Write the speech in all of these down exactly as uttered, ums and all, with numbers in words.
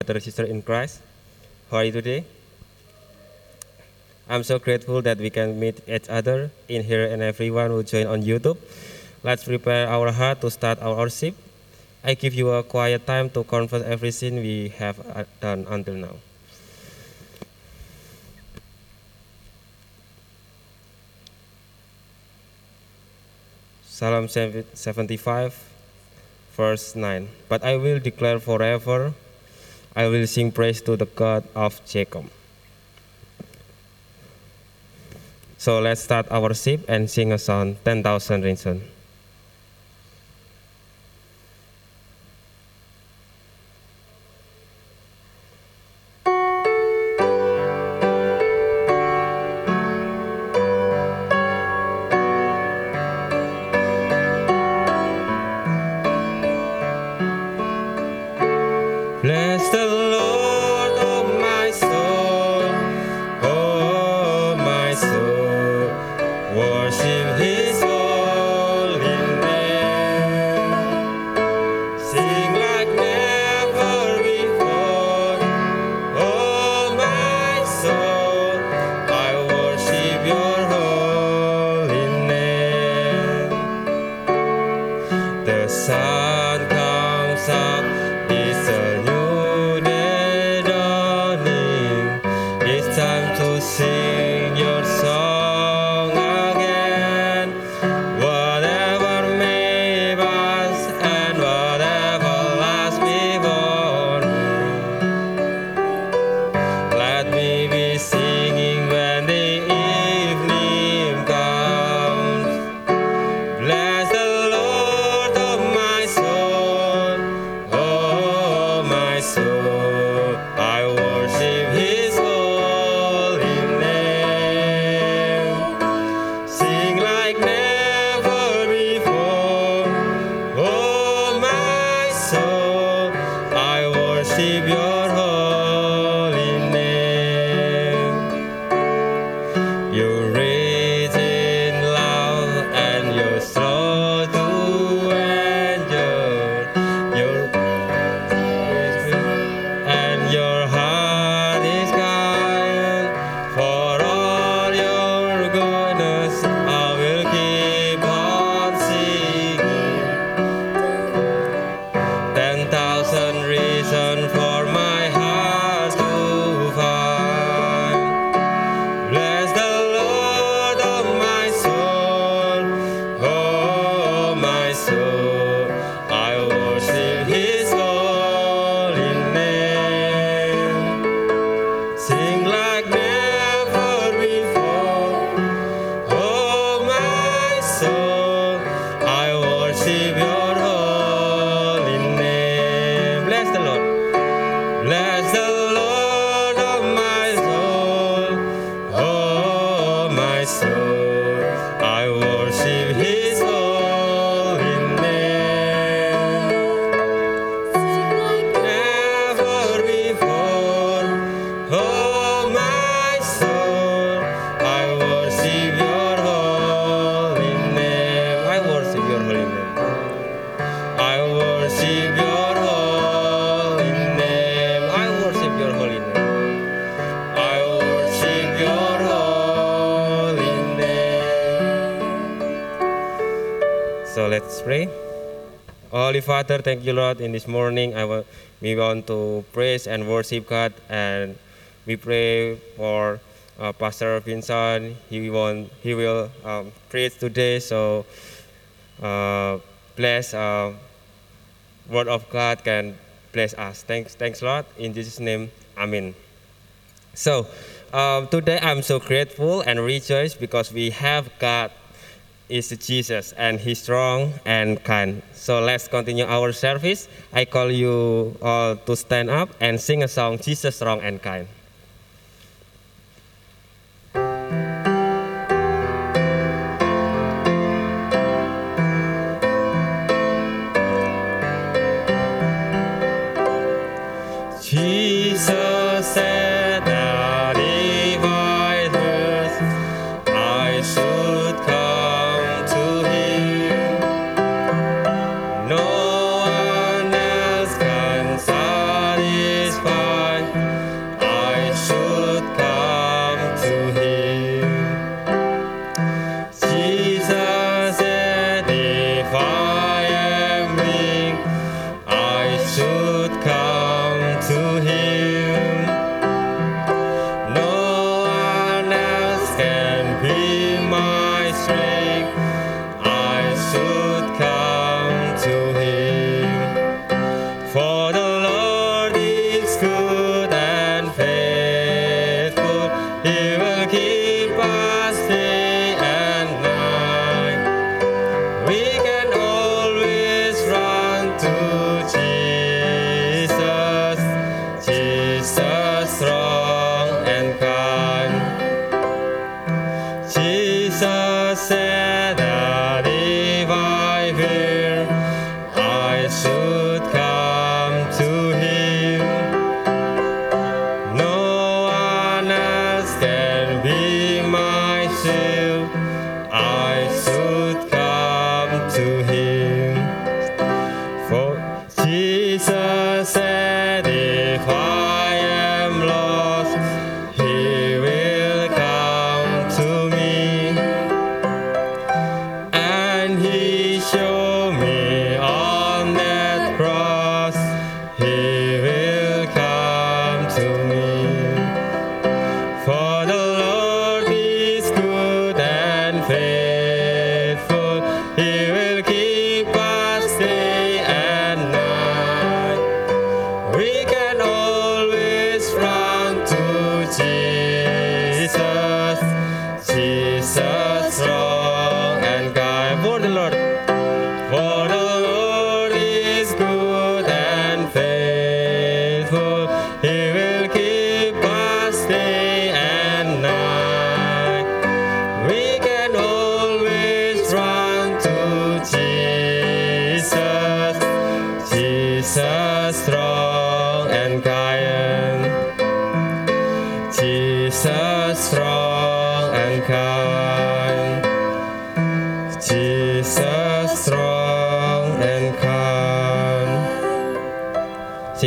Brother and sister in Christ, how are you today? I'm so grateful that we can meet each other in here and everyone who join on YouTube. Let's prepare our heart to start our worship. I give you a quiet time to confess everything we have uh, done until now. Psalm seventy-five, verse nine. But I will declare forever, I will sing praise to the God of Jacob. So let's start our worship and sing a song, ten thousand Reasons. Bless the Lord, oh my soul, oh my soul, worship His holy name. Sing like never before, oh my soul, I worship Your holy name. The sun comes up, it's a new day dawning. It's time to sing Your song again. Whatever may pass and whatever lies before me, let me be singing when the evening comes. Bless the Lord, oh my soul, oh my soul, I worship His holy name. Sing like never before, oh my soul, I worship Your holy name. You're rich in love and You're slow to anger. You're and Your heart is kind. For all Your goodness, I will keep on singing. Ten thousand reasons for my heart to find. Bless the Lord, oh my soul, oh my soul, I worship His holy name. Sing like never before, oh my soul, I worship Your holy name. Bless the Lord. Bless the Lord, oh my soul, oh my soul, I worship His holy name. Sing like never before, oh my soul, I worship Your holy name. I worship Your holy name. I worship Your holy name. I worship Your holy name. I worship Your holy name. So let's pray. Holy Father, thank You, Lord. In this morning, I wa- we want to praise and worship God, and we pray for uh, Pastor Vincent. He want he will um, preach today. So uh, bless. Uh, Word of God can bless us. Thanks, thanks, Lord. In Jesus' name, Amen. So um, today I'm so grateful and rejoiced because we have God is Jesus and He's strong and kind. So let's continue our service. I call you all to stand up and sing a song, Jesus strong and kind. Jesus said that if I thirst, I should come to Him. No one else can satisfy.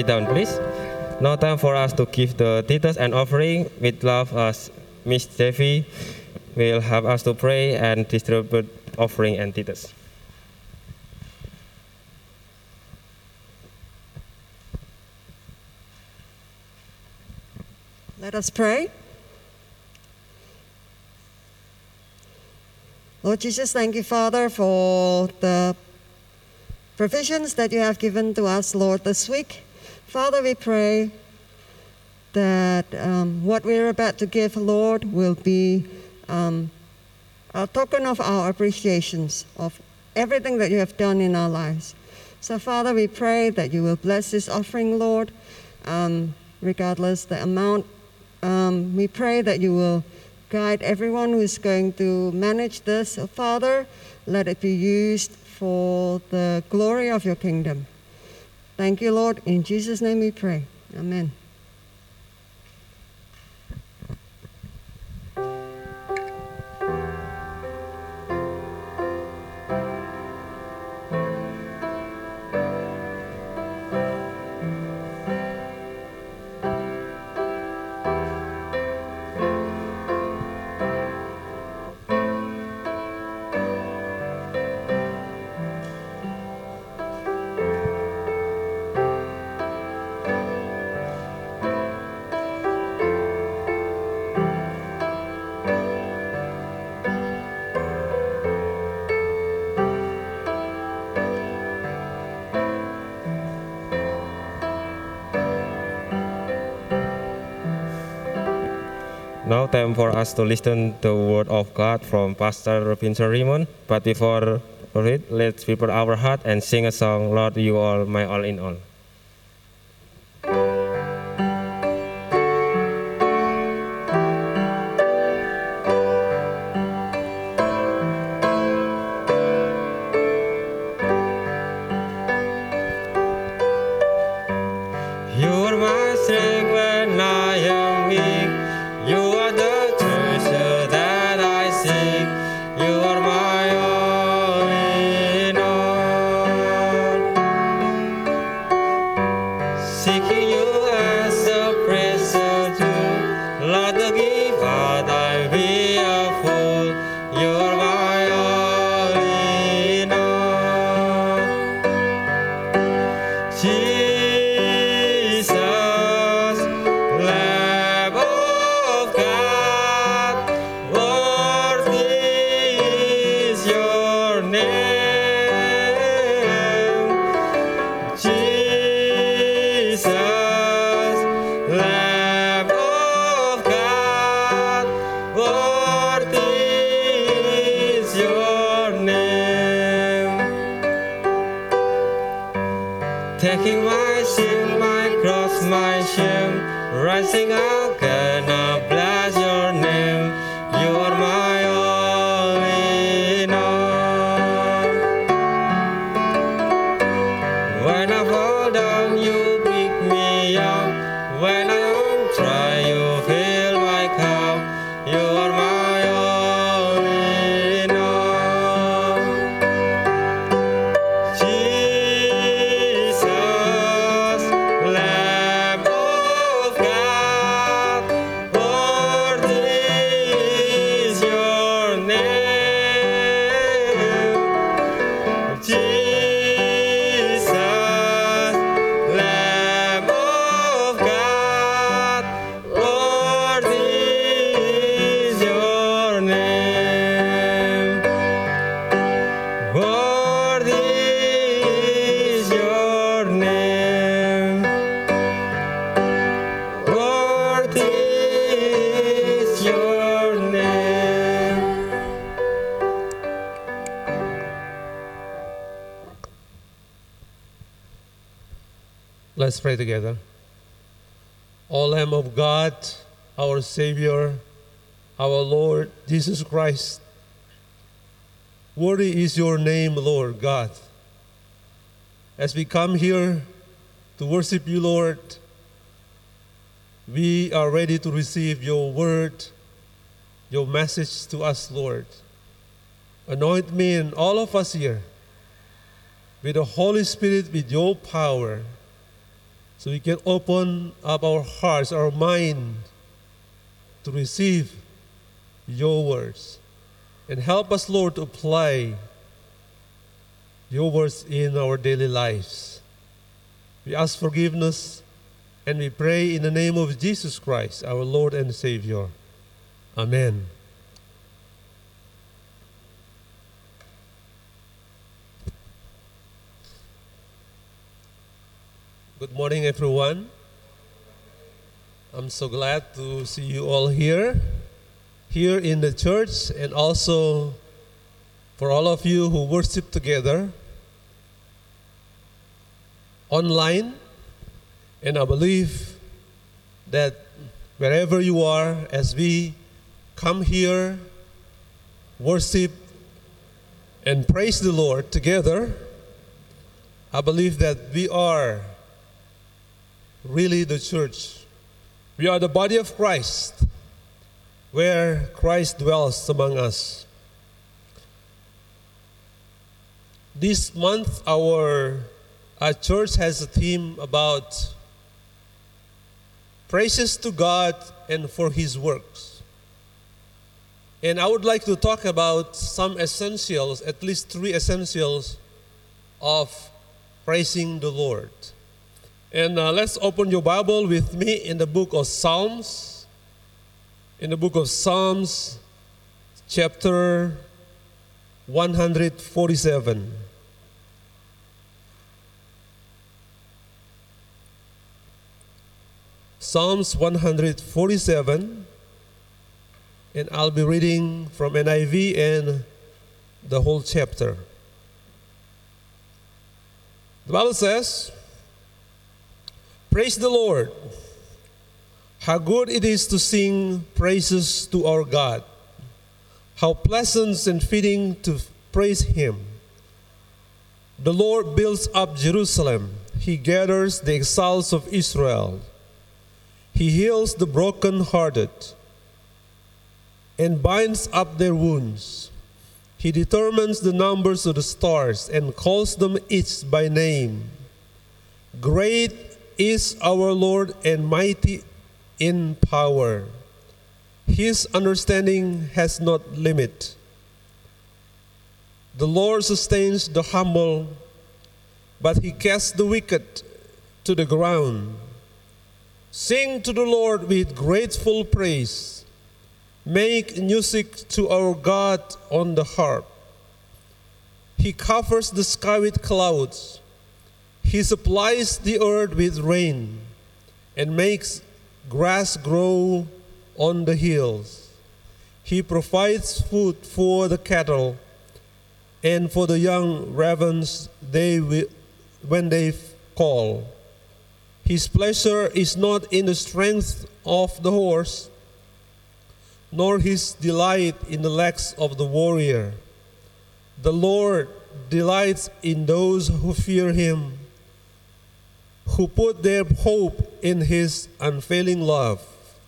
sit down, please. Now time for us to give the tithes and offering. With love, as Miss Devi will help us to pray and distribute offering and tithes. Let us pray. Lord Jesus, thank you, Father, for the provisions that you have given to us, Lord, this week. Father, we pray that um, what we're about to give, Lord, will be um, a token of our appreciations of everything that you have done in our lives. So, Father, we pray that you will bless this offering, Lord, um, regardless the amount. Um, we pray that you will guide everyone who is going to manage this. Oh, Father, let it be used for the glory of your kingdom. Thank you, Lord. In Jesus' name we pray. Amen. Now time for us to listen to the word of God from Pastor Vincent Raymond. But before it, let's prepare our heart and sing a song, Lord, you are my all in all. You are my strength when I am weak. You are the treasure that I seek. You are my all in all. Seeking you as a precious jewel, Lord, the giver I be a fool. You are my all in all. Jesus, Lamb of God, worthy is your name. Jesus, Lamb of God, worthy is your name. Taking my sin, my cross, my shame, rising up, gonna bless your name. You are my all in all. When I fall down, you pick me up. When I am dry, you fill my cup. You are my all in all. Jesus, Lamb of God, worthy is your name. Jesus, Lamb of God, worthy is your name. Worthy is your name. Worthy is your name. Let's pray together. O Lamb of God, our Savior, our Lord Jesus Christ, worthy is your name, Lord God. As we come here to worship you, Lord, we are ready to receive your word, your message to us, Lord. Anoint me and all of us here with the Holy Spirit, with your power, so we can open up our hearts, our mind to receive your words. And help us, Lord, to apply your words in our daily lives. We ask forgiveness and we pray in the name of Jesus Christ, our Lord and Savior. Amen. Good morning, everyone. I'm so glad to see you all here, here in the church, and also for all of you who worship together online. And I believe that wherever you are, as we come here, worship, and praise the Lord together, I believe that we are really the church. We are the body of Christ, where Christ dwells among us. This month, our, our church has a theme about praises to God and for His works. And I would like to talk about some essentials, at least three essentials of praising the Lord. And uh, let's open your Bible with me in the book of Psalms. In the book of Psalms, chapter one hundred forty-seven. Psalms one hundred forty-seven, and I'll be reading from N I V and the whole chapter. The Bible says, "Praise the Lord. How good it is to sing praises to our God. How pleasant and fitting to praise Him. The Lord builds up Jerusalem. He gathers the exiles of Israel. He heals the brokenhearted and binds up their wounds. He determines the numbers of the stars and calls them each by name. Great is our Lord and mighty in power. His understanding has not limit. The Lord sustains the humble, but He casts the wicked to the ground. Sing to the Lord with grateful praise. Make music to our God on the harp. He covers the sky with clouds. He supplies the earth with rain and makes grass grow on the hills. He provides food for the cattle and for the young ravens they will, when they call. His pleasure is not in the strength of the horse, nor His delight in the legs of the warrior. The Lord delights in those who fear Him, who put their hope in His unfailing love.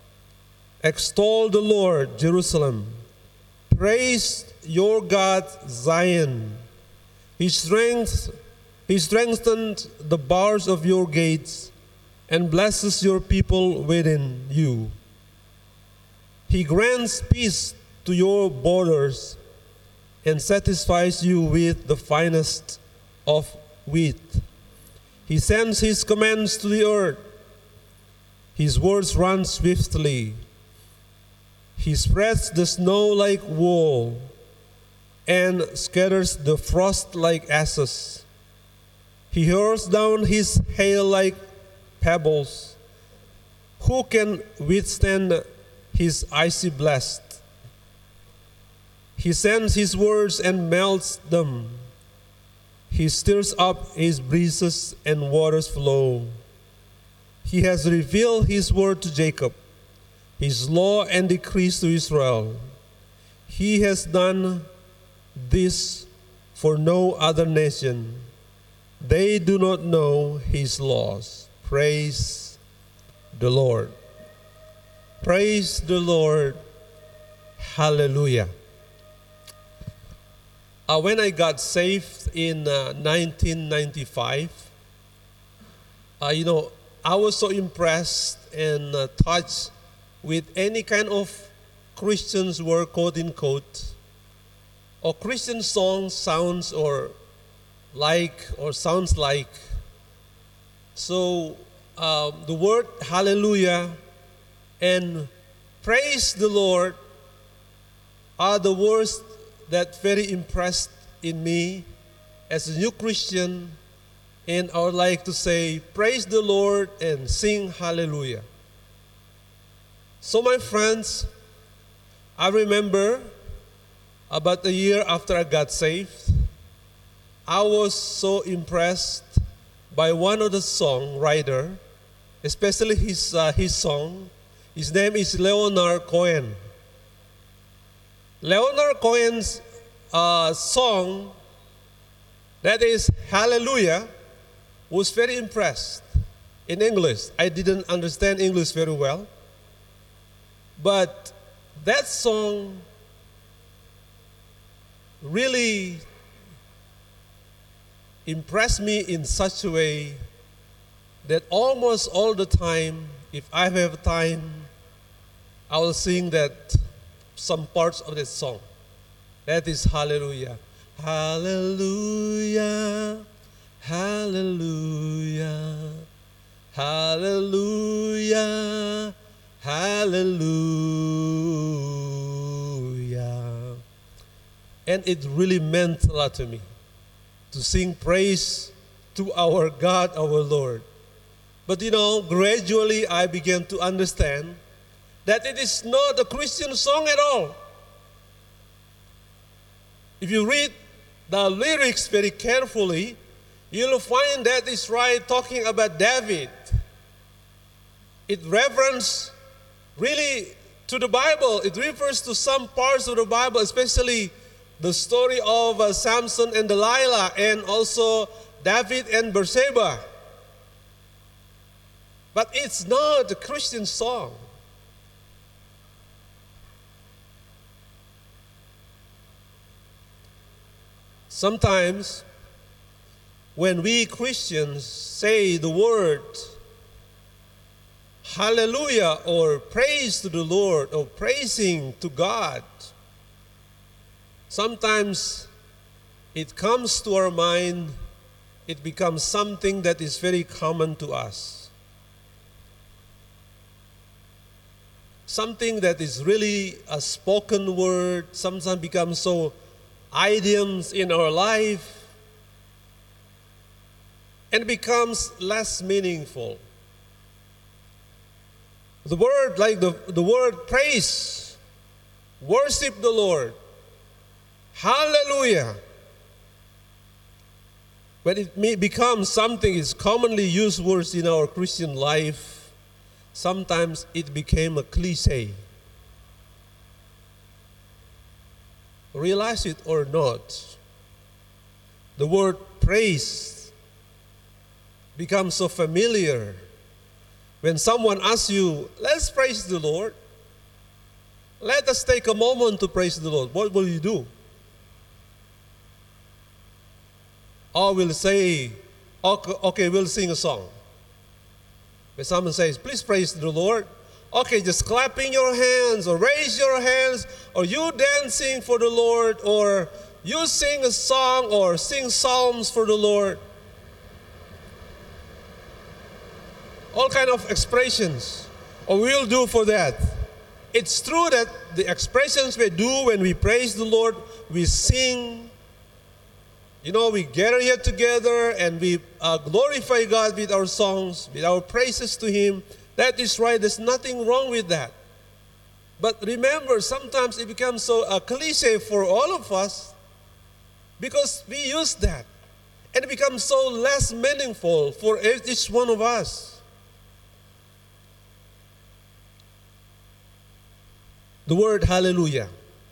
Extol the Lord, Jerusalem. Praise your God, Zion. He strength, He strengthened the bars of your gates and blesses your people within you. He grants peace to your borders and satisfies you with the finest of wheat. He sends His commands to the earth. His words run swiftly. He spreads the snow like wool and scatters the frost like ashes. He hurls down His hail like pebbles. Who can withstand His icy blast? He sends His words and melts them. He stirs up His breezes and waters flow. He has revealed His word to Jacob, His law and decrees to Israel. He has done this for no other nation. They do not know His laws. Praise the Lord. Praise the Lord. Hallelujah. Uh, when I got saved in uh, nineteen ninety-five, uh, you know, I was so impressed and uh, touched with any kind of Christians word, quote unquote, or Christian song sounds or like or sounds like. So um, the word hallelujah and praise the Lord are the words that very impressed in me as a new Christian, and I would like to say praise the Lord and sing hallelujah. So my friends, I remember about a year after I got saved, I was so impressed by one of the songwriter, especially his, uh, his song. His name is Leonard Cohen. Leonard Cohen's uh, song, that is Hallelujah, was very impressed in English. I didn't understand English very well, but that song really impressed me in such a way that almost all the time, if I have time, I will sing that some parts of that song. That is Hallelujah. Hallelujah, hallelujah, hallelujah, hallelujah. And it really meant a lot to me to sing praise to our God, our Lord. But you know, gradually I began to understand that it is not a Christian song at all. If you read the lyrics very carefully, you'll find that it's right talking about David. It references really to the Bible. It refers to some parts of the Bible, especially the story of uh, Samson and Delilah, and also David and Bathsheba. But it's not a Christian song. Sometimes, when we Christians say the word hallelujah or praise to the Lord or praising to God, sometimes it comes to our mind, it becomes something that is very common to us. Something that is really a spoken word, sometimes becomes so idioms in our life, and becomes less meaningful. The word, like the, the word praise, worship the Lord, hallelujah, when it may becomes something is commonly used words in our Christian life, sometimes it became a cliche. Realize it or not, the word praise becomes so familiar. When someone asks you, let's praise the Lord, let us take a moment to praise the Lord, what will you do? Or we'll say, okay, okay, we'll sing a song. When someone says, please praise the Lord, okay, just clapping your hands or raise your hands, or you dancing for the Lord, or you sing a song or sing psalms for the Lord. All kind of expressions, or we'll do for that. It's true that the expressions we do when we praise the Lord, we sing, you know, we gather here together and we uh, glorify God with our songs, with our praises to Him. That is right, there's nothing wrong with that. But remember, sometimes it becomes so a cliche for all of us because we use that. And it becomes so less meaningful for each one of us. The word hallelujah.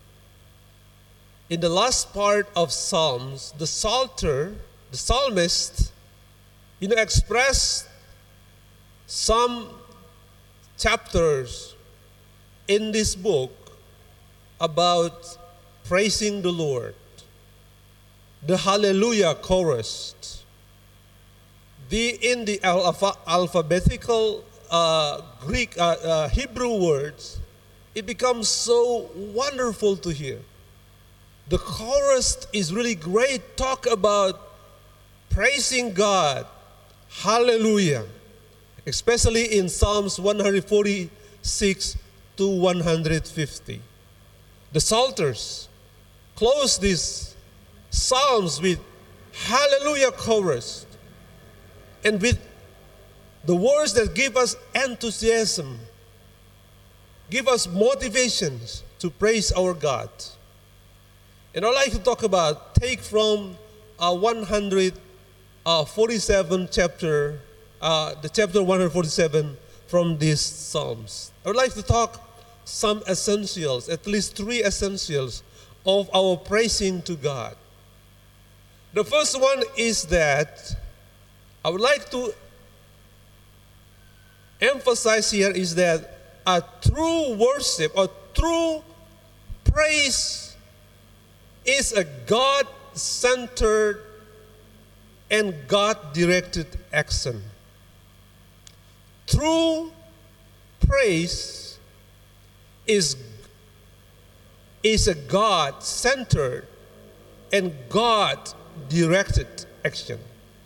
In the last part of Psalms, the psalter, the psalmist, you know, expressed some chapters in this book about praising the Lord. The Hallelujah chorus, The, in the alpha, alphabetical uh, Greek, uh, uh, Hebrew words, it becomes so wonderful to hear. The chorus is really great. Talk about praising God. Hallelujah. Especially in Psalms one forty-six to one fifty. The Psalters close these Psalms with Hallelujah chorus and with the words that give us enthusiasm, give us motivations to praise our God. And I'd like to talk about, take from uh, one forty-seven chapter, uh, the chapter one forty-seven from these Psalms. I would like to talk some essentials, at least three essentials of our praising to God. The first one is that I would like to emphasize here is that a true worship or true praise is a God-centered and God-directed action. True praise is, is a God-centered and God-directed action.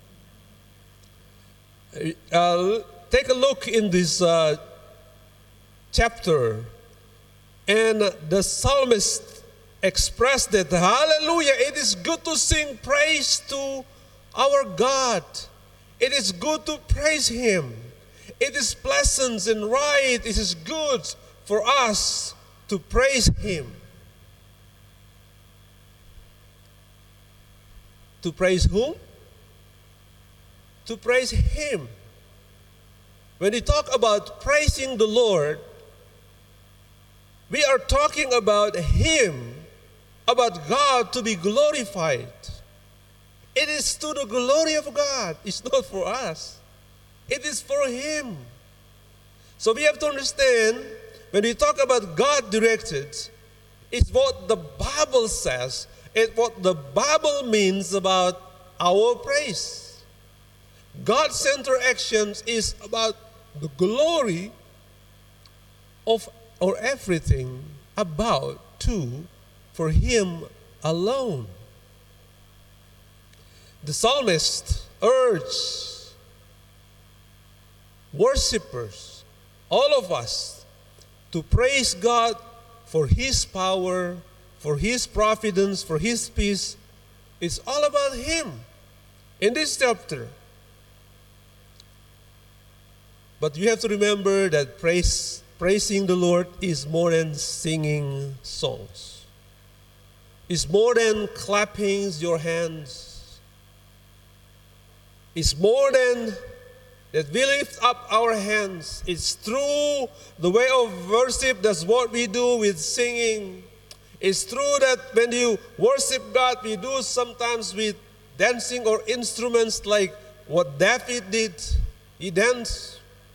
Uh, take a look in this uh, chapter, and the psalmist expressed that, hallelujah, it is good to sing praise to our God. It is good to praise Him. It is pleasant and right. It is good for us to praise Him. To praise whom? To praise Him. When we talk about praising the Lord, we are talking about Him, about God to be glorified. It is to the glory of God. It's not for us. It is for Him. So we have to understand, when we talk about God-directed, it's what the Bible says, it's what the Bible means about our praise. God-centered actions is about the glory of or everything about to for Him alone. The psalmist urged worshippers, all of us, to praise God for His power, for His providence, for His peace. It's all about Him in this chapter. But you have to remember that praise, praising the Lord is more than singing songs. It's more than clapping your hands. It's more than that we lift up our hands. It's through the way of worship. That's what we do with singing. It's true that when you worship God, we do sometimes with dancing or instruments like what David did. He danced.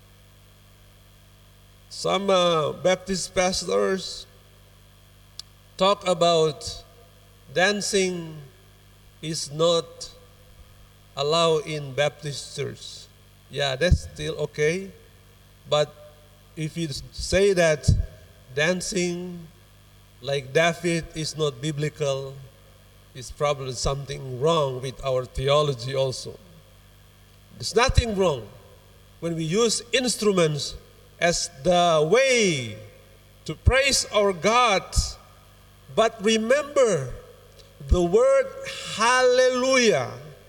Some uh, Baptist pastors talk about dancing is not allowed in Baptist church. Yeah, that's still okay. But if you say that dancing like David is not biblical, it's probably something wrong with our theology also. There's nothing wrong when we use instruments as the way to praise our God. But remember, the word hallelujah,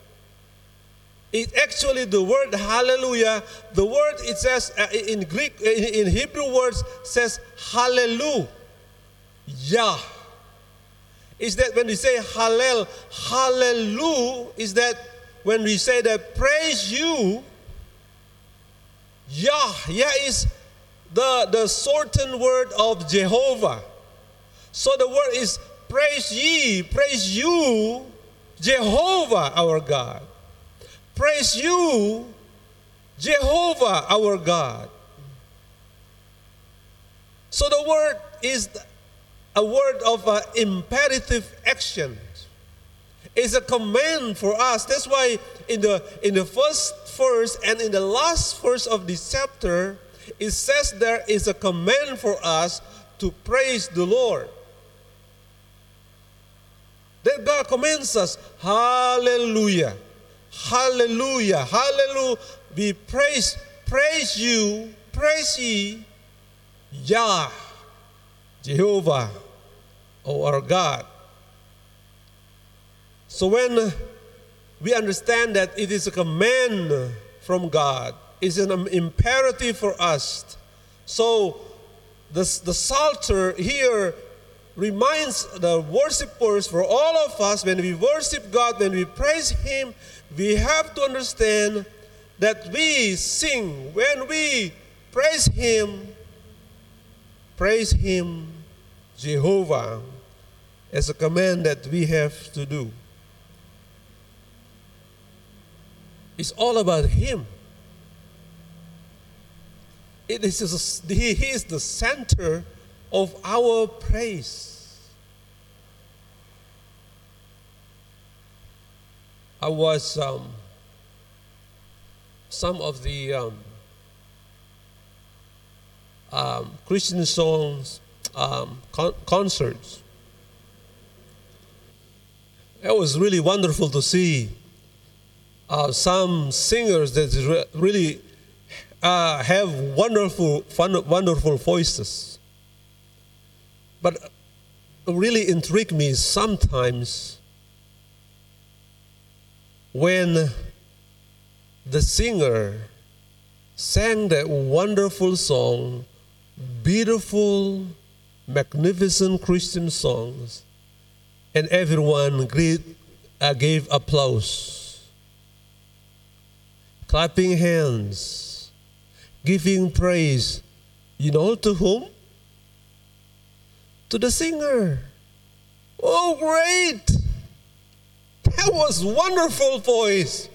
it actually, the word hallelujah, the word it says uh, in Greek, in, in Hebrew words says hallelujah. Is that when we say hallel, hallelujah, is that when we say that praise you, Yah, Yah is the, the shortened word of Jehovah. So the word is praise ye, praise you, Jehovah our God. Praise you, Jehovah our God. So the word is a word of uh, imperative action. It's a command for us. That's why in the in the first verse and in the last verse of this chapter, it says there is a command for us to praise the Lord. That God commands us, hallelujah, hallelujah, hallelujah. We praise, praise you, praise ye, Yah, Jehovah, O our God. So when we understand that it is a command from God, it's an imperative for us. So the, the Psalter here reminds the worshipers, for all of us, when we worship God, when we praise Him, we have to understand that we sing, when we praise Him, praise Him, Jehovah, as a command that we have to do. It's all about Him. It is, He is the center of our praise. I was um, some of the um, um, Christian songs um, con- concerts. It was really wonderful to see uh, some singers that re- really uh, have wonderful, fun, wonderful voices. But really intrigued me sometimes when the singer sang that wonderful song, beautiful, magnificent Christian songs, and everyone great, uh, gave applause, clapping hands, giving praise. You know to whom? To the singer. Oh, great! That was wonderful voice.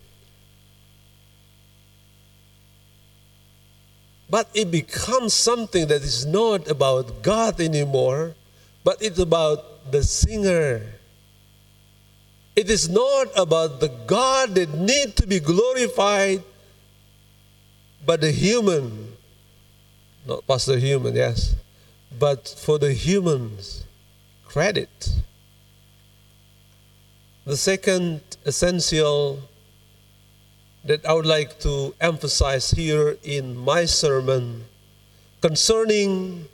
But it becomes something that is not about God anymore, but it's about the singer. It is not about the God that need to be glorified, but the human. Not Pastor Human, yes. But for the humans, credit. The second essential that I would like to emphasize here in my sermon concerning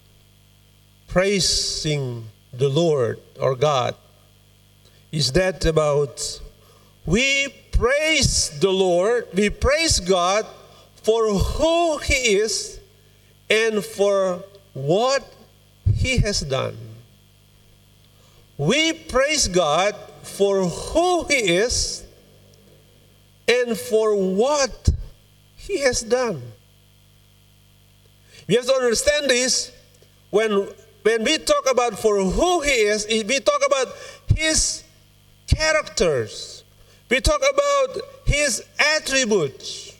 praising the Lord or God is that about we praise the Lord, we praise God for who He is and for what He has done. We praise God for who He is and for what He has done. We have to understand this. When, when we talk about for who He is, we talk about His characters. We talk about His attributes.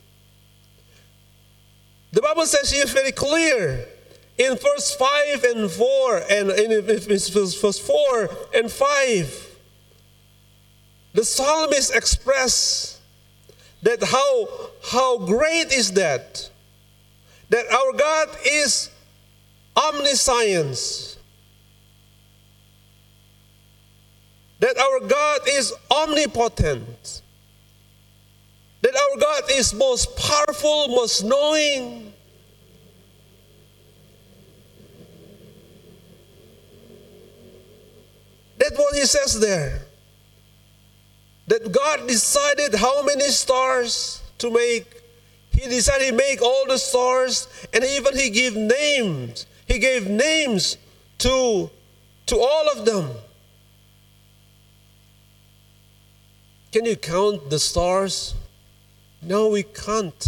The Bible says here very clear in verse five and four, and in verse four and five, the psalmist express that how, how great is that, that our God is omniscience, that our God is omnipotent, that our God is most powerful, most knowing. That's what he says there. That God decided how many stars to make. He decided to make all the stars, and even he gave names. He gave names to, to all of them. Can you count the stars? No, we can't.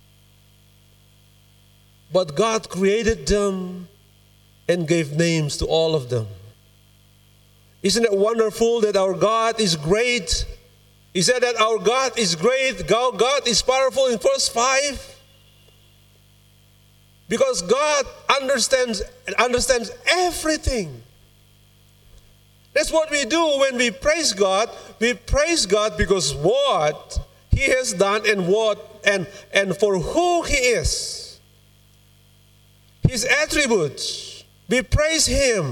But God created them and gave names to all of them. Isn't it wonderful that our God is great? He said that our God is great, God is powerful in verse five. Because God understands understands everything. That's what we do when we praise God. We praise God because what He has done and what and, and for who He is. His attributes. We praise Him.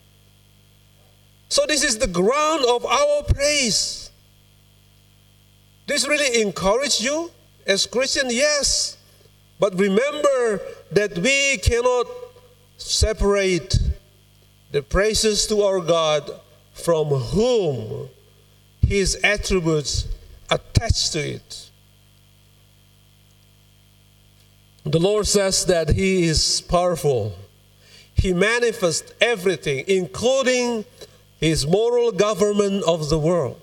So this is the ground of our praise. This really encourage you as Christian? Yes. But remember that we cannot separate the praises to our God from whom His attributes attach to it. The Lord says that He is powerful. He manifests everything, including His moral government of the world.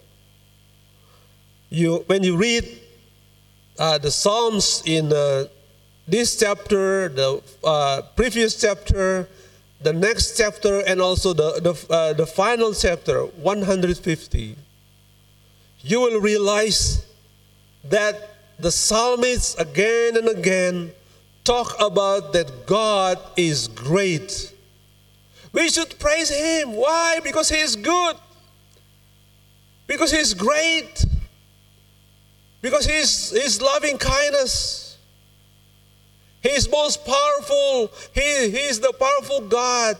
You, when you read uh, the Psalms in uh, this chapter, the uh, previous chapter, the next chapter, and also the, the, uh, the final chapter, one hundred fifty, you will realize that the psalmists again and again talk about that God is great. We should praise Him. Why? Because He is good. Because He is great. Because He is His loving kindness. He is most powerful. He, he is the powerful God.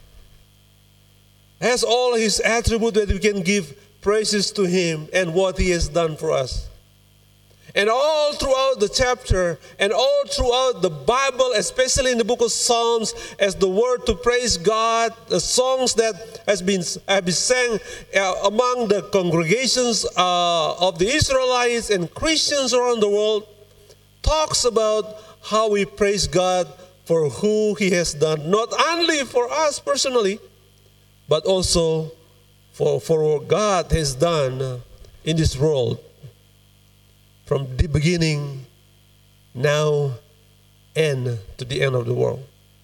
Has all His attributes that we can give praises to Him and what He has done for us. And all throughout the chapter and all throughout the Bible, especially in the book of Psalms, as the word to praise God, the songs that has been, have been sang uh, among the congregations uh, of the Israelites and Christians around the world, talks about how we praise God for who He has done, not only for us personally, but also for, for what God has done in this world. From the beginning, now, and to the end of the world.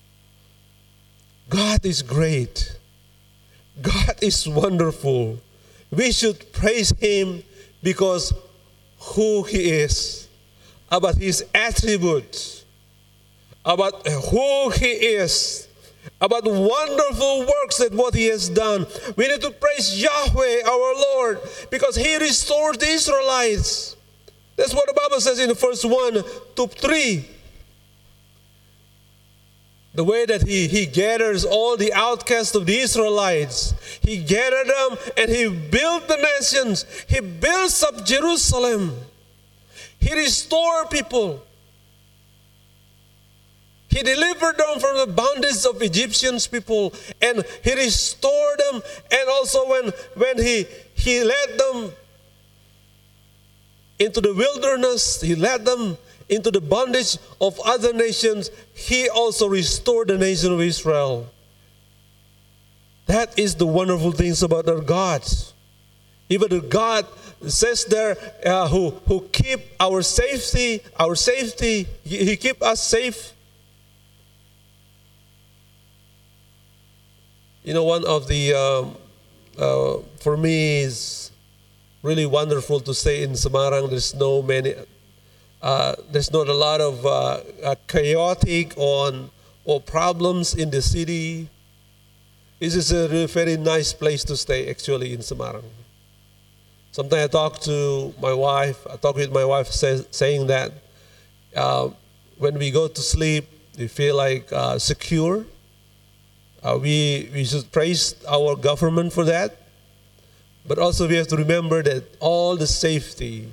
God is great. God is wonderful. We should praise Him because who He is, about His attributes, about who He is, about wonderful works that what He has done. We need to praise Yahweh, our Lord, because He restored the Israelites. That's what the Bible says in the verse one to three. The way that he, he gathers all the outcasts of the Israelites. He gathered them and He built the nations. He built up Jerusalem. He restored people. He delivered them from the bondage of Egyptians people. And He restored them. And also when, when he, he led them into the wilderness, He led them into the bondage of other nations. He also restored the nation of Israel. That is the wonderful things about our God. Even the God says there, uh, who, who keep our safety, our safety, He, he keep us safe. You know, one of the, um, uh, for me is really wonderful to stay in Semarang. There's no many, uh, there's not a lot of uh, uh, chaotic or, or problems in the city. This is a really very nice place to stay actually in Semarang. Sometimes I talk to my wife, I talk with my wife say, saying that uh, when we go to sleep, we feel like uh, secure. Uh, we, we should praise our government for that. But also we have to remember that all the safety,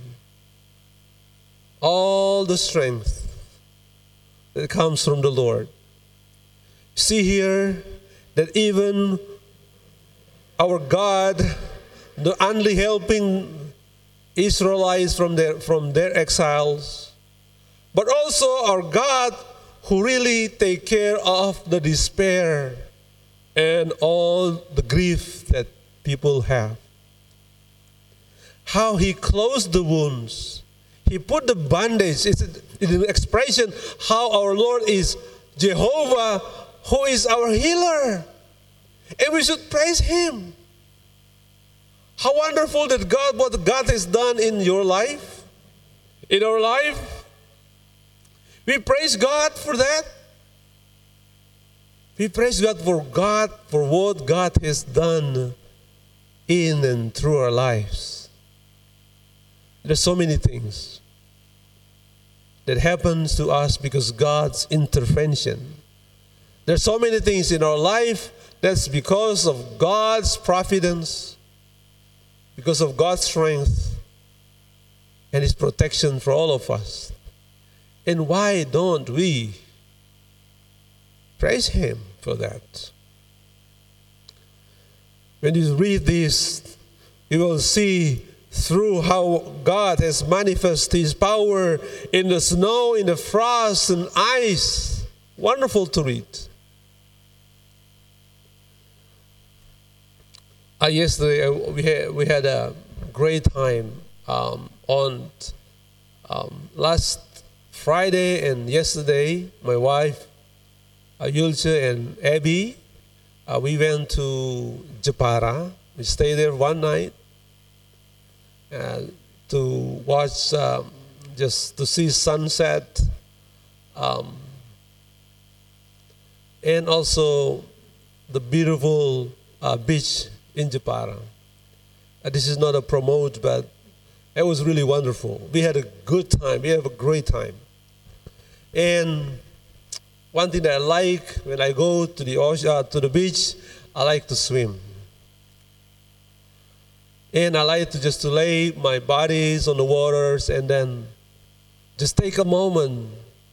all the strength that comes from the Lord. See here that even our God, the only helping Israelites from their, from their exiles, but also our God who really take care of the despair and all the grief that people have. How He closed the wounds. He put the bandage. It's an expression how our Lord is Jehovah, who is our healer. And we should praise Him. How wonderful that God, what God has done in your life, in our life. We praise God for that. We praise God for God, for what God has done in and through our lives. There's so many things that happens to us because God's intervention. There's so many things in our life that's because of God's providence, because of God's strength and His protection for all of us. And why don't we praise Him for that? When you read this, you will see through how God has manifested His power in the snow, in the frost and ice. Wonderful to read. Uh, yesterday uh, we, had, we had a great time um, on um, last Friday and yesterday. My wife, uh, Yulce and Abby, uh, we went to Jepara. We stayed there one night uh, to watch, um, just to see sunset, um, and also the beautiful uh, beach in Jepara. Uh, this is not a promote, but it was really wonderful. We had a good time. We have a great time. And one thing that I like when I go to the ocean, uh, to the beach, I like to swim. And I like to just to lay my bodies on the waters and then just take a moment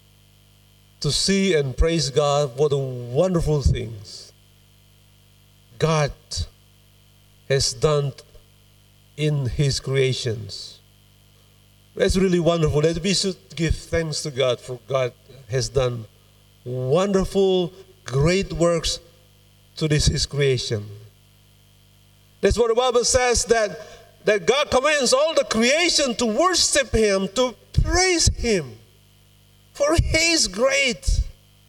to see and praise God for the wonderful things God has done in His creations. That's really wonderful that we should give thanks to God for God has done wonderful, great works to this His creation. That's what the Bible says, that, that God commands all the creation to worship Him, to praise Him, for He is great.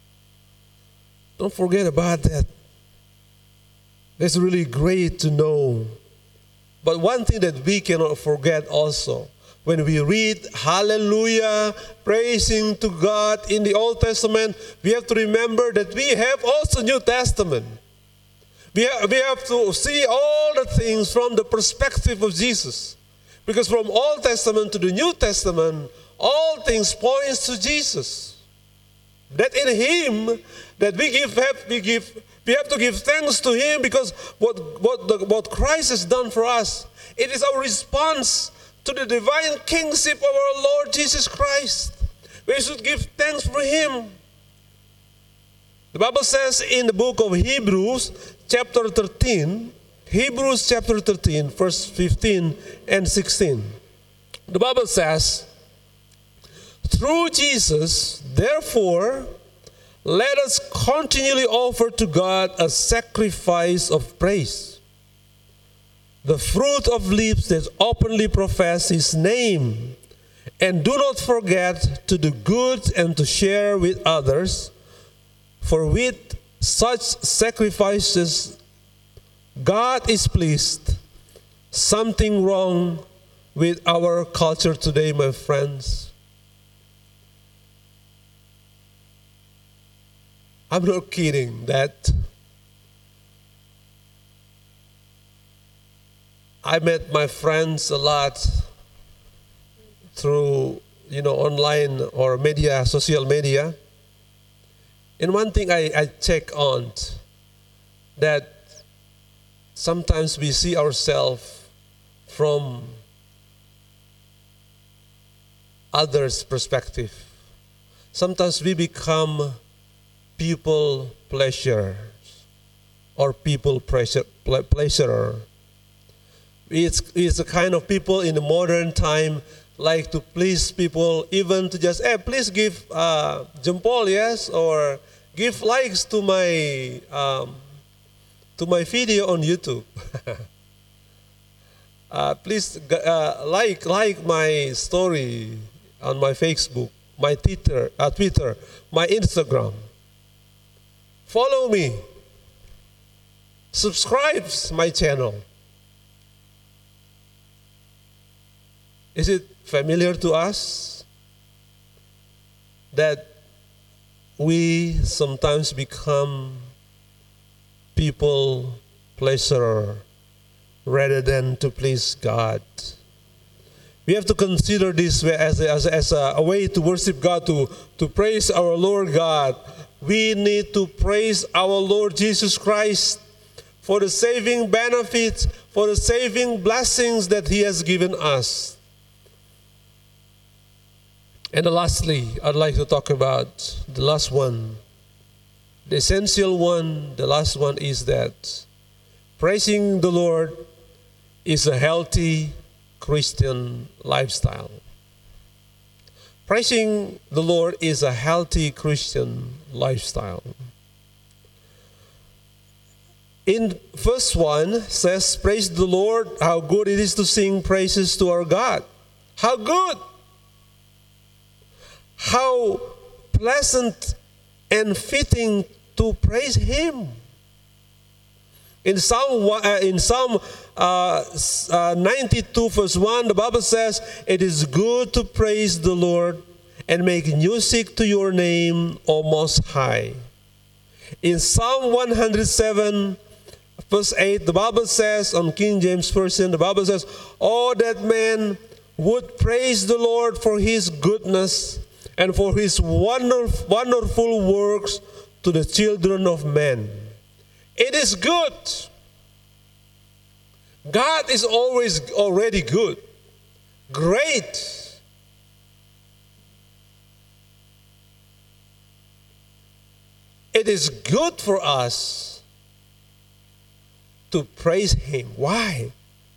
Don't forget about that. It's really great to know. But one thing that we cannot forget also, when we read hallelujah, praising to God in the Old Testament, we have to remember that we have also New Testament. We have, we have to see all the things from the perspective of Jesus. Because from Old Testament to the New Testament, all things points to Jesus. That in Him, that we give, have, we give, we have to give thanks to Him because what what the, what Christ has done for us, it is our response to the divine kingship of our Lord Jesus Christ. We should give thanks for Him. The Bible says in the book of Hebrews, chapter thirteen, Hebrews chapter thirteen, verse fifteen and sixteen. The Bible says, through Jesus, therefore, let us continually offer to God a sacrifice of praise, the fruit of lips that openly profess His name. And do not forget to do good and to share with others, for with such sacrifices God is pleased. Something wrong with our culture today, my friends. I'm not kidding that I met my friends a lot through, you know, online or media, social media. And one thing I, I check on, that sometimes we see ourselves from others' perspective. Sometimes we become people pleasure or people pleasure, pleasurer. It's, it's the kind of people in the modern time like to please people, even to just, hey, please give uh, jempol, yes, or give likes to my um, to my video on YouTube. uh, please uh, like like my story on my Facebook, my Twitter, uh, Twitter, my Instagram. Follow me. Subscribe my channel. Is it familiar to us that we sometimes become people pleaser rather than to please God. We have to consider this as a, as a, as a way to worship God, to, to praise our Lord God. We need to praise our Lord Jesus Christ for the saving benefits, for the saving blessings that He has given us. And lastly, I'd like to talk about the last one. The essential one, the last one is that praising the Lord is a healthy Christian lifestyle. Praising the Lord is a healthy Christian lifestyle. In verse one says, praise the Lord, how good it is to sing praises to our God. How good! How pleasant and fitting to praise Him. In Psalm, uh, in Psalm uh, uh, ninety-two verse one, the Bible says, it is good to praise the Lord and make music to your name, O Most High. In Psalm one hundred seven verse eight, the Bible says, on King James Version, the Bible says, oh, that man would praise the Lord for His goodness and for His wonderful, wonderful works to the children of men. It is good. God is always already good. Great. It is good for us to praise Him. Why?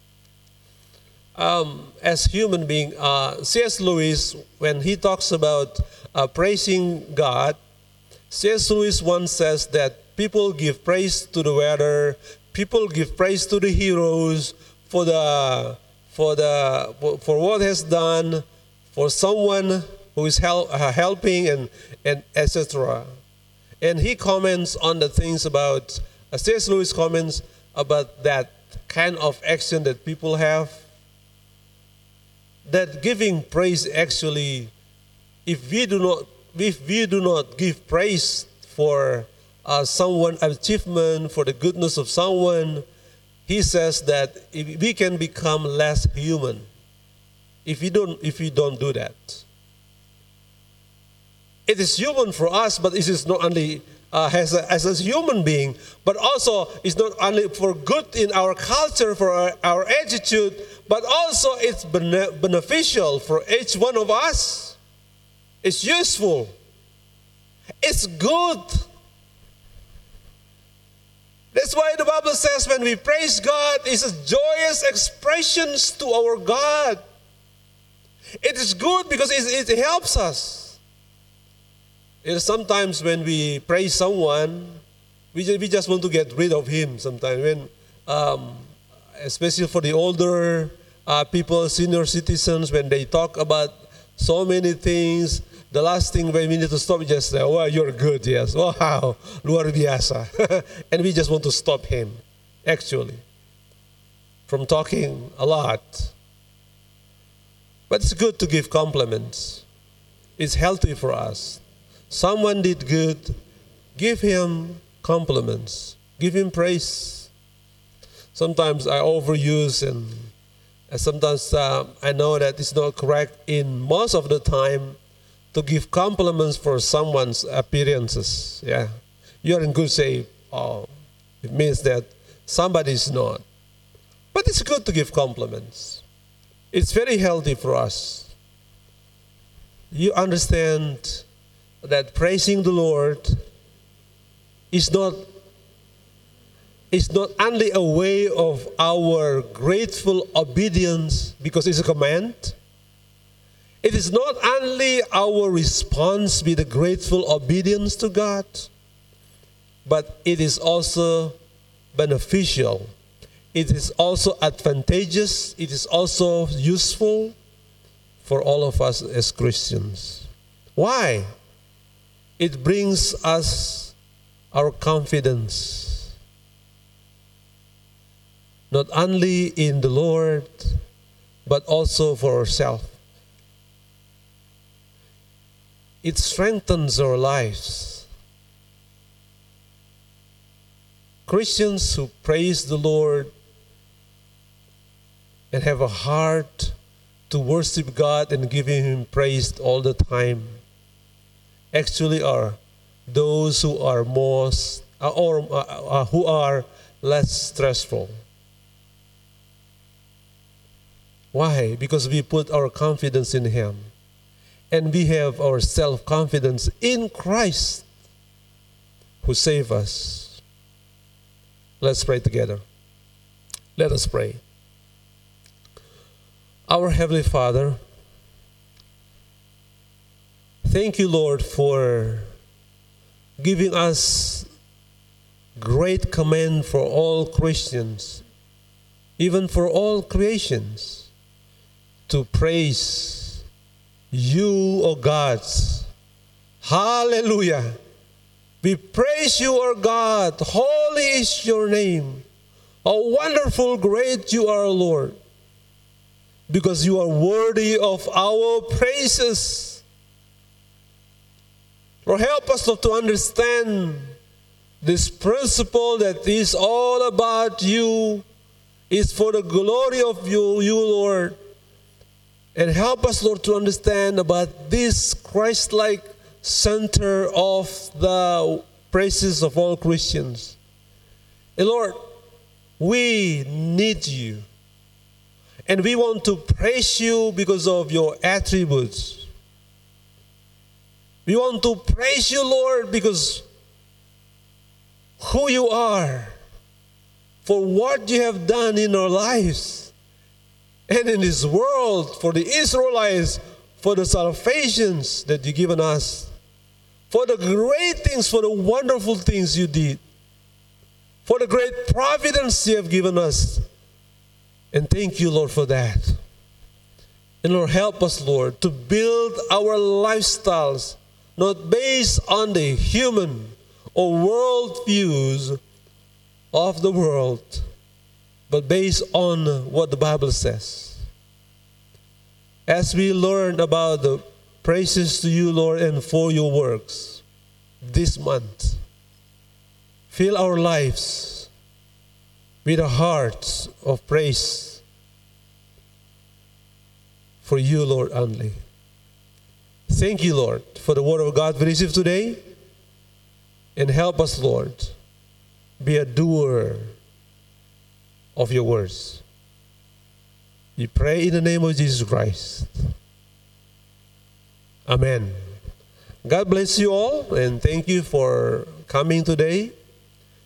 Um, as human being, uh, C S Lewis, when he talks about uh, praising God, C S Lewis once says that people give praise to the weather, people give praise to the heroes for the for the for, for what has done, for someone who is help, uh, helping, and and et cetera. And he comments on the things about uh, C S Lewis comments about that kind of action that people have. That giving praise actually, if we do not if we do not give praise for uh, someone's achievement, for the goodness of someone, he says that if we can become less human if we don't if we don't do that. It is human for us, but it is not only uh, as, a, as a human being, but also it's not only for good in our culture, for our, our attitude, but also it's bene- beneficial for each one of us. It's useful. It's good. That's why the Bible says when we praise God, it's a joyous expressions to our God. It is good because it, it helps us. You know, sometimes when we praise someone, we just, we just want to get rid of him sometimes. When, um, especially for the older uh, people, senior citizens, when they talk about so many things, the last thing when we need to stop is just say, oh, you're good, yes. Wow, luar biasa. And we just want to stop him, actually, from talking a lot. But it's good to give compliments. It's healthy for us. Someone did good, give him compliments, give him praise. Sometimes I overuse, and, and sometimes uh, I know that it's not correct in most of the time to give compliments for someone's appearances. Yeah, you're in good shape. Oh, it means that somebody is not. But it's good to give compliments. It's very healthy for us. You understand that praising the Lord is not, is not only a way of our grateful obedience because it's a command. It is not only our response with a grateful obedience to God, but it is also beneficial. It is also advantageous. It is also useful for all of us as Christians. Why? It brings us our confidence, not only in the Lord, but also for ourselves. It strengthens our lives. Christians who praise the Lord and have a heart to worship God and giving Him praise all the time actually are those who are most uh, or uh, uh, who are less stressful. Why? Because we put our confidence in Him, and we have our self-confidence in Christ who saved us. Let's pray together. Let us pray. Our Heavenly Father, thank you, Lord, for giving us great command for all Christians, even for all creations, to praise you, O God. Hallelujah. We praise you, O God. Holy is your name. How wonderful, great you are, Lord, because you are worthy of our praises. Lord, help us, Lord, to understand this principle that is all about you, is for the glory of you, you, Lord. And help us, Lord, to understand about this Christ-like center of the praises of all Christians. And Lord, we need you. And we want to praise you because of your attributes. We want to praise you, Lord, because who you are, for what you have done in our lives and in this world, for the Israelites, for the salvations that you've given us, for the great things, for the wonderful things you did, for the great providence you have given us. And thank you, Lord, for that. And Lord, help us, Lord, to build our lifestyles not based on the human or world views of the world, but based on what the Bible says. As we learn about the praises to you, Lord, and for your works this month, fill our lives with a heart of praise for you, Lord, only. Thank you, Lord, for the word of God we received today. And help us, Lord, be a doer of your words. We pray in the name of Jesus Christ. Amen. God bless you all, and thank you for coming today.